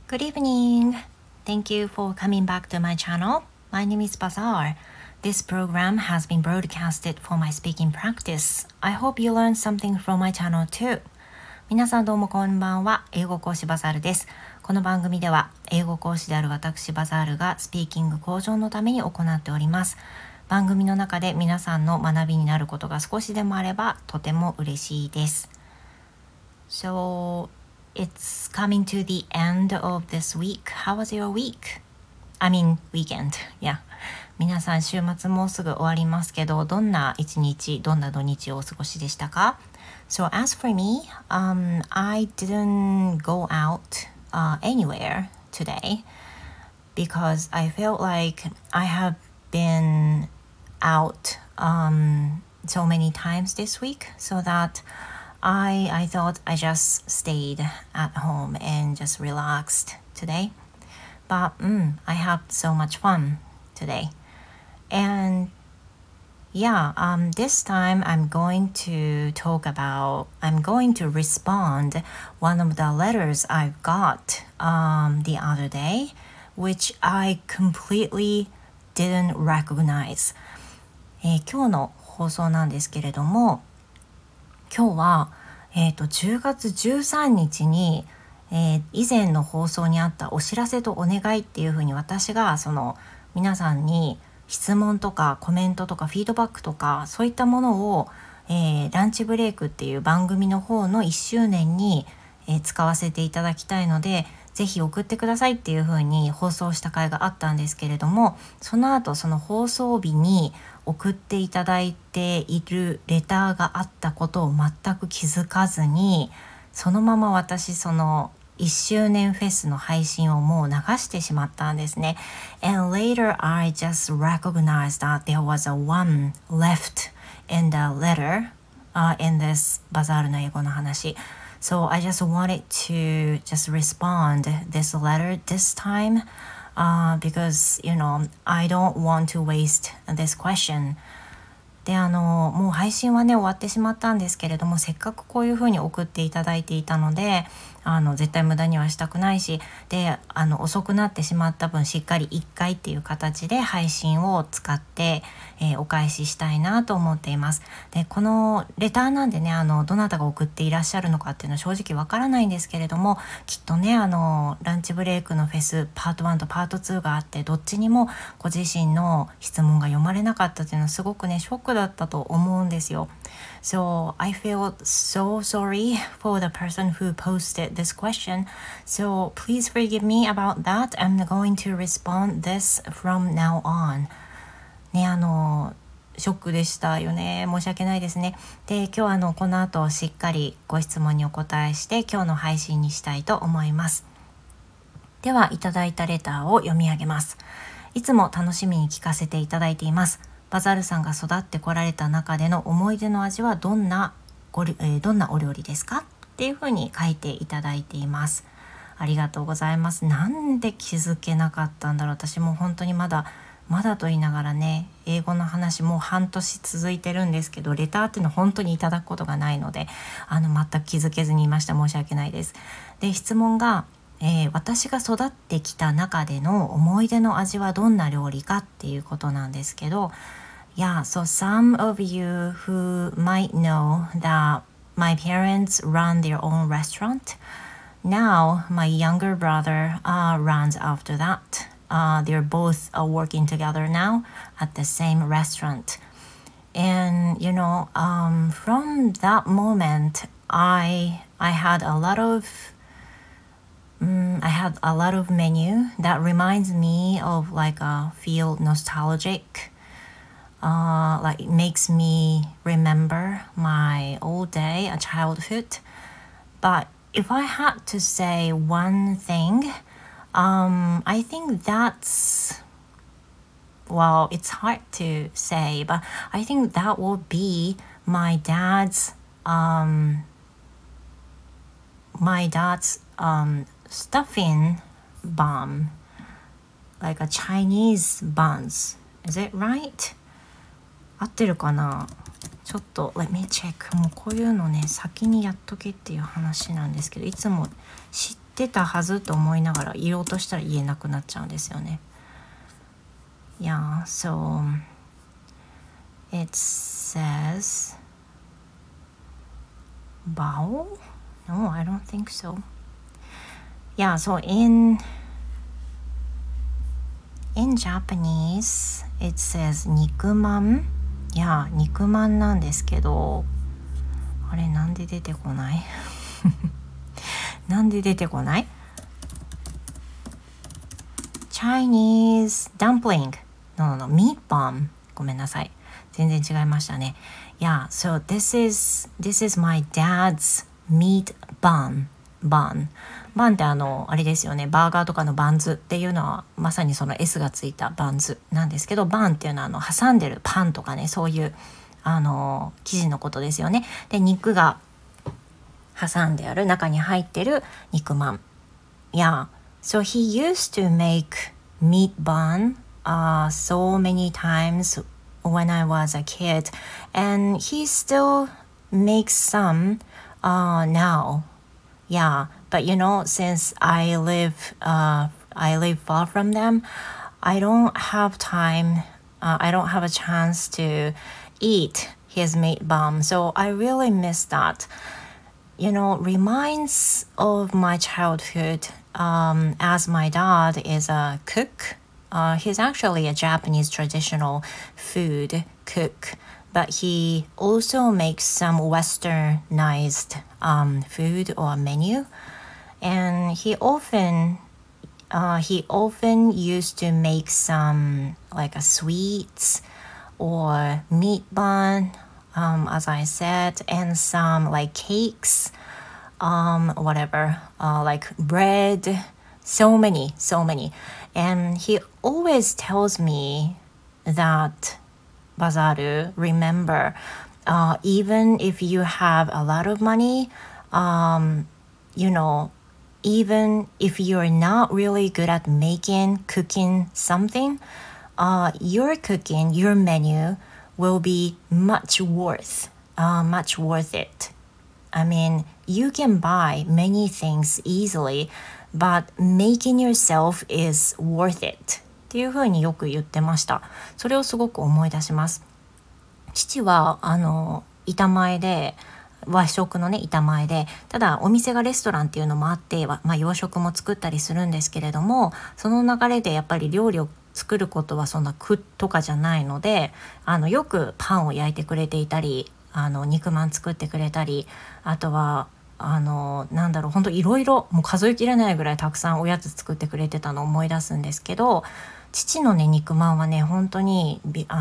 Good evening. Thank you for coming back to my channel. My name is Bazaar. This program has been broadcasted for my speaking practice. I hope you learned something from my channel too. 皆さんどうもこんばんは。英語講師バザールです。この番組では英語講師である私バザールがスピーキング向上のために行っております。番組の中で皆さんの学びになることが少しでもあればとても嬉しいです。So, it's coming to the end of this week. How was your week? I mean, weekend. Yeah. 皆さん週末もうすぐ終わりますけど、どんな一日、どんな土日をお過ごしでしたか？ So as for me, I didn't go out anywhere today because I felt like I have been out so many times this week, so that I thought I just stayed at home and just relaxed today. But I had so much fun today. And yeah, this time I'm going to respond one of the letters I've got the other day, which I completely didn't recognize. 今日の放送なんですけれども、今日は、10月13日に、以前の放送にあったお知らせとお願いっていうふうに私がその皆さんに質問とかコメントとかフィードバックとかそういったものを、ランチブレイクっていう番組の方の1周年に、使わせていただきたいのでぜひ送ってくださいっていう風に放送した回があったんですけれども、その後その放送日に送っていただいているレターがあったことを全く気づかずに、そのまま私その1周年フェスの配信をもう流してしまったんですね。And later I just recognized that there was a one left in the letter、in this バザールの英語の話。So I just wanted to just respond this letter this time、because I don't want to waste this question. でもう配信はね終わってしまったんですけれども、せっかくこういう風に送っていただいていたので絶対無駄にはしたくないし、で遅くなってしまった分しっかり1回っていう形で配信を使って、お返ししたいなと思っています。でこのレターなんでねどなたが送っていらっしゃるのかっていうのは正直わからないんですけれども、きっとねランチブレイクのフェスパート1とパート2があって、どっちにもご自身の質問が読まれなかったっていうのはすごくねショックだったと思うんですよ。So I feel so sorry for the person who posted this question. So please forgive me about that. I'm going to respond this from now on. ねショックでしたよね。申し訳ないですね。で今日この後しっかりご質問にお答えして今日の配信にしたいと思います。ではいただいたレターを読み上げます。いつも楽しみに聞かせていただいています。バザールさんが育ってこられた中での思い出の味はどんなお料理ですかっていうふうに書いていただいています。ありがとうございます。なんで気づけなかったんだろう。私も本当にまだと言いながらね、英語の話もう半年続いてるんですけど、レターっていうのは本当にいただくことがないので全く気づけずにいました。申し訳ないです。で質問が私が育ってきた中での思い出の味はどんな料理かっていうことなんですけど、Yeah, so some of you who might know that my parents run their own restaurant. Now, my younger brother runs after that. They're both working together now at the same restaurant. And, from that moment, I had a lot of menu that reminds me of feel nostalgic. Like it makes me remember my old day, a childhood. But if I had to say one thing, I think it's hard to say, but I think that would be my dad's stuffing bun, like a Chinese buns. Is it right? 合ってるかな。ちょっと let me check。 もうこういうのね先にやっとけっていう話なんですけど、いつも知っってたはずと思いながら言おうとしたら言えなくなっちゃうんですよね。Yeah, so it says bao? No, I don't think so. Yeah, so in Japanese it says 肉まん。いや、肉まんなんですけど、あれなんで出てこないなんで出てこない？ Chinese dumpling. No, meat bomb. ごめんなさい。全然違いましたね。Yeah, so this is my dad's meat bun. バンってあれですよね、バーガーとかのバンズっていうのはまさにその S がついたバンズなんですけど、バンっていうのは挟んでるパンとかね、そういう生地のことですよね。で、肉が挟んである中に入ってる肉まん。Yeah, so he used to make meat bun so many times when I was a kid, and he still makes some now. Yeah, but since I live far from them, I don't have time. I don't have a chance to eat his meat bun, so I really miss that. Reminds of my childhood, as my dad is a cook. He's actually a Japanese traditional food cook, but he also makes some westernized food or menu. And he often used to make some like a sweets or meat bun, as I said, and some like cakes, whatever, like bread, so many. And he always tells me that, Bazaru, remember, even if you have a lot of money, even if you're not really good at cooking something, your menu will be much worth it. I mean, you can buy many things easily, but making yourself is worth it. っていうふうによく言ってました。それをすごく思い出します。父は板前で、和食のね板前で、ただお店がレストランっていうのもあって、洋食も作ったりするんですけれども、その流れでやっぱり料理を作ることはそんな苦とかじゃないので、よくパンを焼いてくれていたり、肉まん作ってくれたり、あとは本当いろいろ、もう数えきれないぐらいたくさんおやつ作ってくれてたのを思い出すんですけど、父のね肉まんはね本当に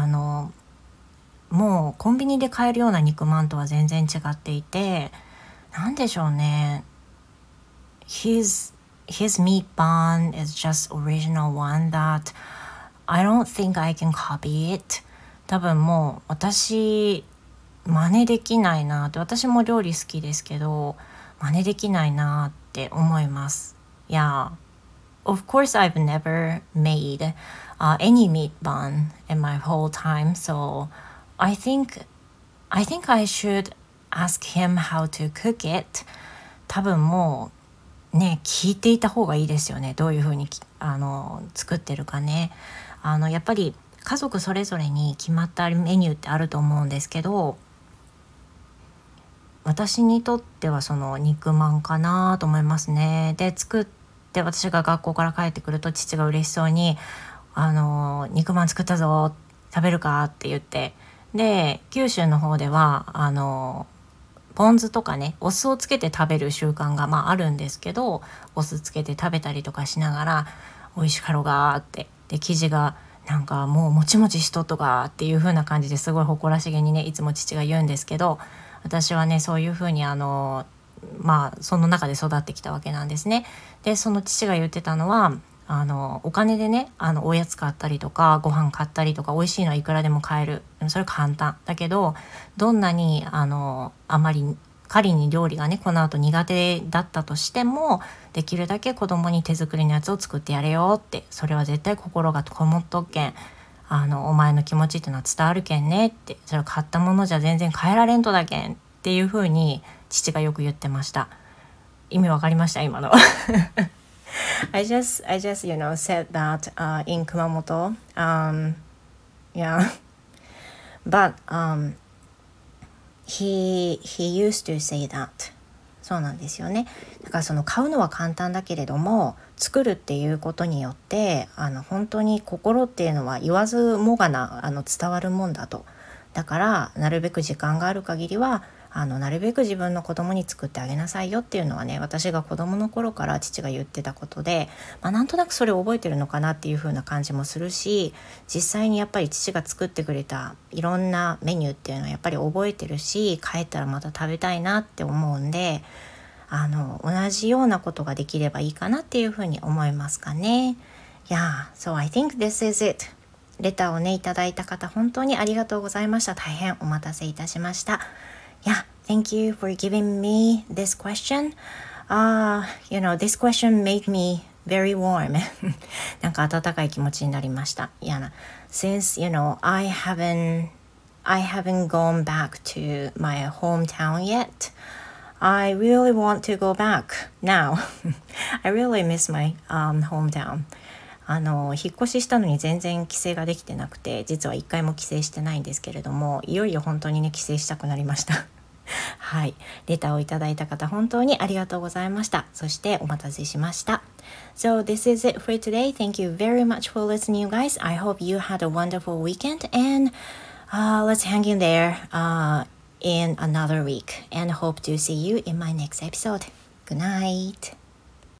もうコンビニで買えるような肉まんとは全然違っていて、なんでしょうね、his meat bun is just original one that I don't think I can copy it. 多分もう私真似できないなって、私も料理好きですけど真似できないなって思います。Yeah, of course I've never made any meat bun in my whole time, so I think I should ask him how to cook it. 多分もうね聞いていた方がいいですよね、どういう風に作ってるかね。やっぱり家族それぞれに決まったメニューってあると思うんですけど、私にとってはその肉まんかなと思いますね。で作って私が学校から帰ってくると父が嬉しそうに肉まん作ったぞ食べるかって言って、で九州の方ではポン酢とかねお酢をつけて食べる習慣があるんですけど、お酢つけて食べたりとかしながら美味しかろがって、で生地がなんかもうもちもちしとっとかっていう風な感じですごい誇らしげにねいつも父が言うんですけど、私はねそういう風にその中で育ってきたわけなんですね。でその父が言ってたのはお金でねおやつ買ったりとかご飯買ったりとか美味しいのはいくらでも買える、それ簡単だけど、どんなにあまり仮に料理がねこの後苦手だったとしても、できるだけ子供に手作りのやつを作ってやれよって、それは絶対心がこもっとっけんお前の気持ちっていうのは伝わるけんねって、それ買ったものじゃ全然変えられんとだけんっていう風に父がよく言ってました。 意味わかりました今のI just said that in Kumamoto. Yeah, but he used to say that. そうなんですよね。だからその買うのは簡単だけれども、作るっていうことによって本当に心っていうのは言わずもがな伝わるもんだと。だからなるべく時間がある限りはなるべく自分の子供に作ってあげなさいよっていうのはね、私が子供の頃から父が言ってたことで、なんとなくそれを覚えてるのかなっていう風な感じもするし、実際にやっぱり父が作ってくれたいろんなメニューっていうのはやっぱり覚えてるし、帰ったらまた食べたいなって思うんで、同じようなことができればいいかなっていう風に思いますかね。Yeah, so I think this is it. レターをねいただいた方本当にありがとうございました。大変お待たせいたしました。Yeah, thank you for giving me this question. This question made me very warm. なんか温かい気持ちになりました。Yeah, since I haven't gone back to my hometown yet. I really want to go back now. I really miss my hometown. 引っ越ししたのに全然帰省ができてなくて、実は一回も帰省してないんですけれども、いよいよ本当にね帰省したくなりましたはい、レターをいただいた方本当にありがとうございました。そしてお待たせしました。So this is it for today. Thank you very much for listening, you guys. I hope you had a wonderful weekend and let's hang in there in another week and hope to see you in my next episode. Good night.